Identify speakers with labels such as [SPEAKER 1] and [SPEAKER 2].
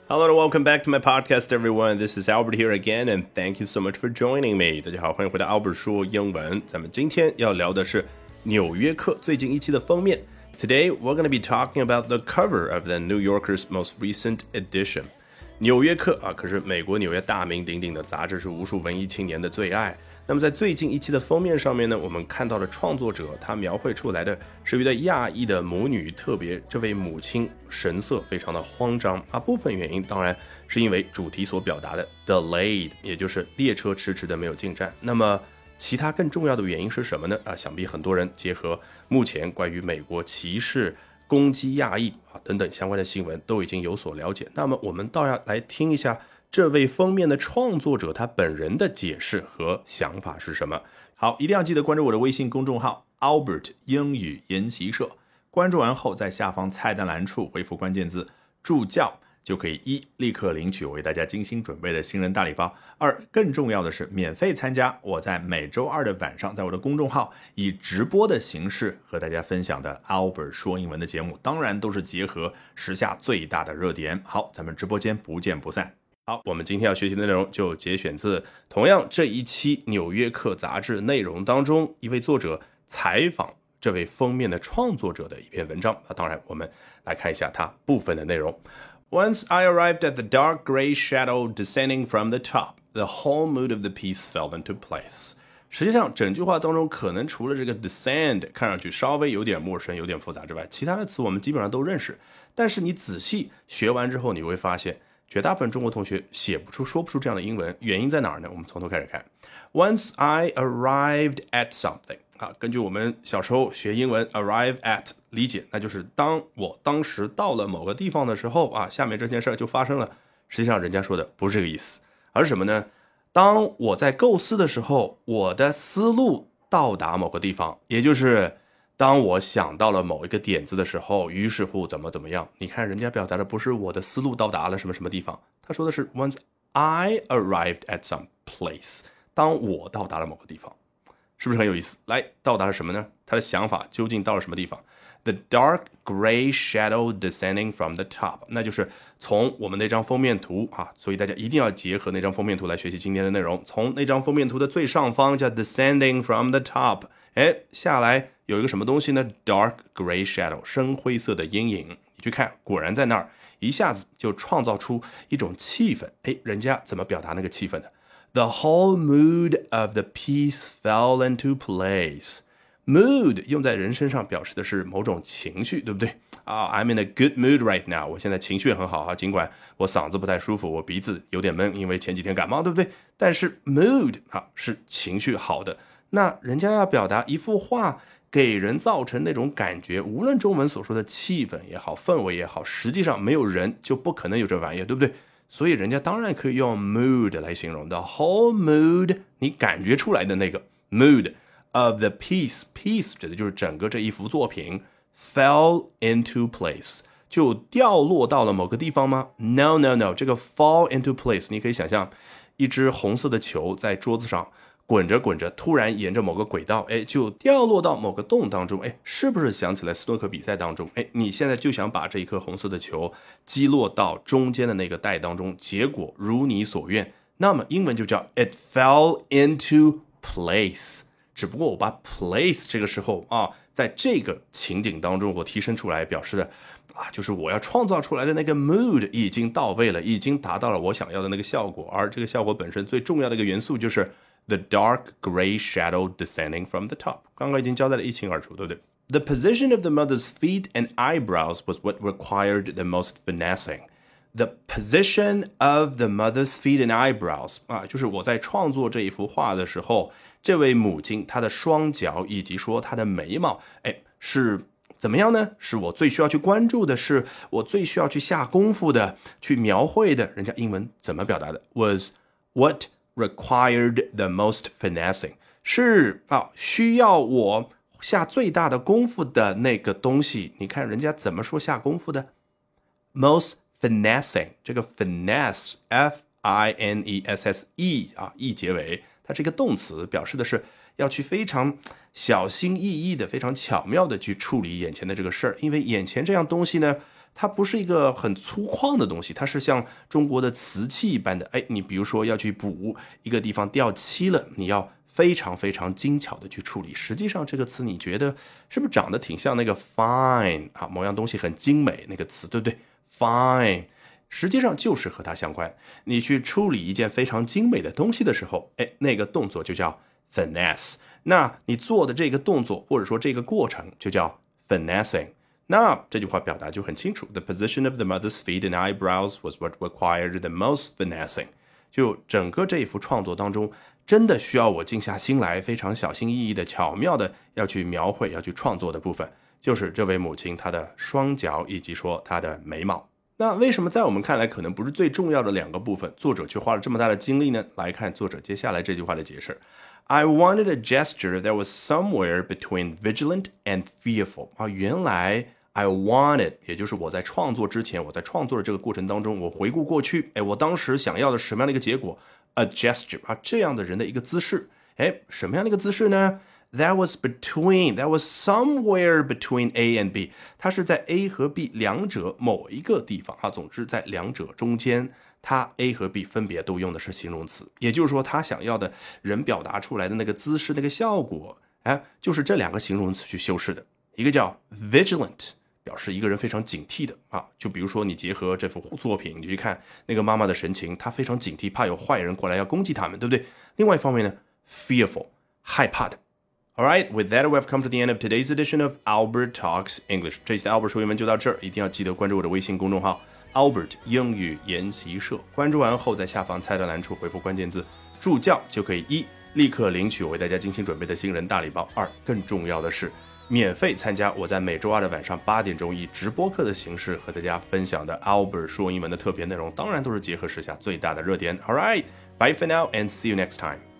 [SPEAKER 1] Hello and welcome back to my podcast, everyone. This is Albert here again, and thank you so much for joining me. 大家好，欢迎回到 Albert 说英文。咱们今天要聊的是纽约客最近一期的封面。Today, we're going to be talking about the cover of the New Yorker's most recent edition. 纽约客啊，可是美国纽约大名鼎鼎的杂志，是无数文艺青年的最爱。那么在最近一期的封面上面呢，我们看到了创作者他描绘出来的是一对亚裔的母女，特别这位母亲神色非常的慌张啊。部分原因当然是因为主题所表达的 delayed， 也就是列车迟迟的没有进站。那么其他更重要的原因是什么呢？想必很多人结合目前关于美国歧视、攻击亚裔等等相关的新闻都已经有所了解。那么我们倒要来听一下这位封面的创作者他本人的解释和想法是什么。好，一定要记得关注我的微信公众号 Albert 英语研习社，关注完后在下方菜单栏处回复关键字助教，就可以一立刻领取我为大家精心准备的新人大礼包，二更重要的是免费参加我在每周二的晚上在我的公众号以直播的形式和大家分享的 Albert 说英文的节目，当然都是结合时下最大的热点。好，咱们直播间不见不散。好，我们今天要学习的内容就节选自同样这一期纽约客杂志内容当中一位作者采访这位封面的创作者的一篇文章。当然我们来看一下它部分的内容。Once I arrived at the dark gray shadow descending from the top, the whole mood of the piece fell into place. 实际上整句话当中可能除了这个 descend 看上去稍微有点陌生有点复杂之外，其他的词我们基本上都认识，但是你仔细学完之后你会发现绝大部分中国同学写不出说不出这样的英文，原因在哪儿呢？我们从头开始看。 Once I arrived at something，根据我们小时候学英文 arrive at 理解，那就是当时到了某个地方的时候下面这件事就发生了。实际上人家说的不是这个意思，而是什么呢？当我在构思的时候，我的思路到达某个地方，也就是当我想到了某一个点子的时候，于是乎怎么样。你看人家表达的不是我的思路到达了什么地方，他说的是 once I arrived at some place， 当我到达了某个地方，是不是很有意思？来，到达了什么呢？他的想法究竟到了什么地方？ The dark gray shadow descending from the top， 那就是从我们那张封面图所以大家一定要结合那张封面图来学习今天的内容。从那张封面图的最上方叫 descending from the top， 下来有一个什么东西呢？ dark gray shadow， 深灰色的阴影。你去看，果然在那儿一下子就创造出一种气氛。人家怎么表达那个气氛的？ The whole mood of the piece fell into place。 mood 用在人身上表示的是某种情绪，对不对I'm in a good mood right now， 我现在情绪很好尽管我嗓子不太舒服，我鼻子有点闷，因为前几天感冒，对不对？但是 mood 是情绪好的。那人家要表达一幅画给人造成那种感觉，无论中文所说的气氛也好，氛围也好，实际上没有人就不可能有这玩意儿，对不对？所以人家当然可以用 mood 来形容的 whole mood， 你感觉出来的那个 mood of the piece 指的就是整个这一幅作品 fell into place， 就掉落到了某个地方吗？ No， 这个 fall into place 你可以想象一只红色的球在桌子上滚着突然沿着某个轨道就掉落到某个洞当中。是不是想起来斯诺克比赛当中你现在就想把这一颗红色的球击落到中间的那个袋当中，结果如你所愿，那么英文就叫 it fell into place。只不过我把 place 这个时候在这个情景当中我提升出来，表示的就是我要创造出来的那个 mood 已经到位了，已经达到了我想要的那个效果。而这个效果本身最重要的一个元素就是 the dark gray shadow descending from the top， 刚刚已经交代得一清二楚，对不对？ The position of the mother's feet and eyebrows was what required the most finessing。The position of the mother's feet and eyebrows 就是我在创作这一幅画的时候，这位母亲她的双脚以及说她的眉毛是怎么样呢？是我最需要去关注的，是我最需要去下功夫的，去描绘的。人家英文怎么表达的？ Was what required the most finessing， 是需要我下最大的功夫的那个东西。你看人家怎么说下功夫的？ most finessing， 这个 finesse F-I-N-E-S-S-E E 结尾，它是一个动词，表示的是要去非常小心翼翼的非常巧妙的去处理眼前的这个事儿。因为眼前这样东西呢它不是一个很粗犷的东西，它是像中国的瓷器一般的。你比如说要去补一个地方掉漆了，你要非常非常精巧的去处理。实际上这个词你觉得是不是长得挺像那个 fine 啊，某样东西很精美那个词，对不对？ fine 实际上就是和它相关。你去处理一件非常精美的东西的时候，那个动作就叫 finesse。那你做的这个动作或者说这个过程就叫 finessing。那这句话表达就很清楚 The position of the mother's feet and eyebrows was what required the most finessing。 就整个这一幅创作当中，真的需要我静下心来非常小心翼翼的巧妙的要去描绘要去创作的部分，就是这位母亲她的双脚以及说她的眉毛。那为什么在我们看来可能不是最重要的两个部分，作者却花了这么大的精力呢？来看作者接下来这句话的解释。I wanted a gesture that was somewhere between vigilant and fearful。 原来 I wanted 也就是我在创作之前，我在创作的这个过程当中，我回顾过去，我当时想要的是什么样的一个结果？ A gesture 这样的人的一个姿势。什么样的一个姿势呢？ That was somewhere between A and B。 它是在 A 和 B 两者某一个地方总之在两者中间，它 A 和 B 分别都用的是形容词，也就是说他想要的人表达出来的那个姿势那个效果，就是这两个形容词去修饰的。一个叫 vigilant， 表示一个人非常警惕的就比如说你结合这幅作品，你去看那个妈妈的神情，她非常警惕，怕有坏人过来要攻击他们，对不对？另外一方面呢 fearful， 害怕的。Alright, with that, we've come to the end of today's edition of Albert Talks English. 这期的 Albert 说英文就到这儿，一定要记得关注我的微信公众号 Albert 英语研习社。关注完后，在下方菜单栏处回复关键字助教，就可以1立刻领取我为大家精心准备的新人大礼包，2更重要的是免费参加我在每周2的晚上8点钟以直播课的形式和大家分享的 Albert 说英文的特别内容，当然都是结合时下最大的热点。Alright, bye for now and see you next time.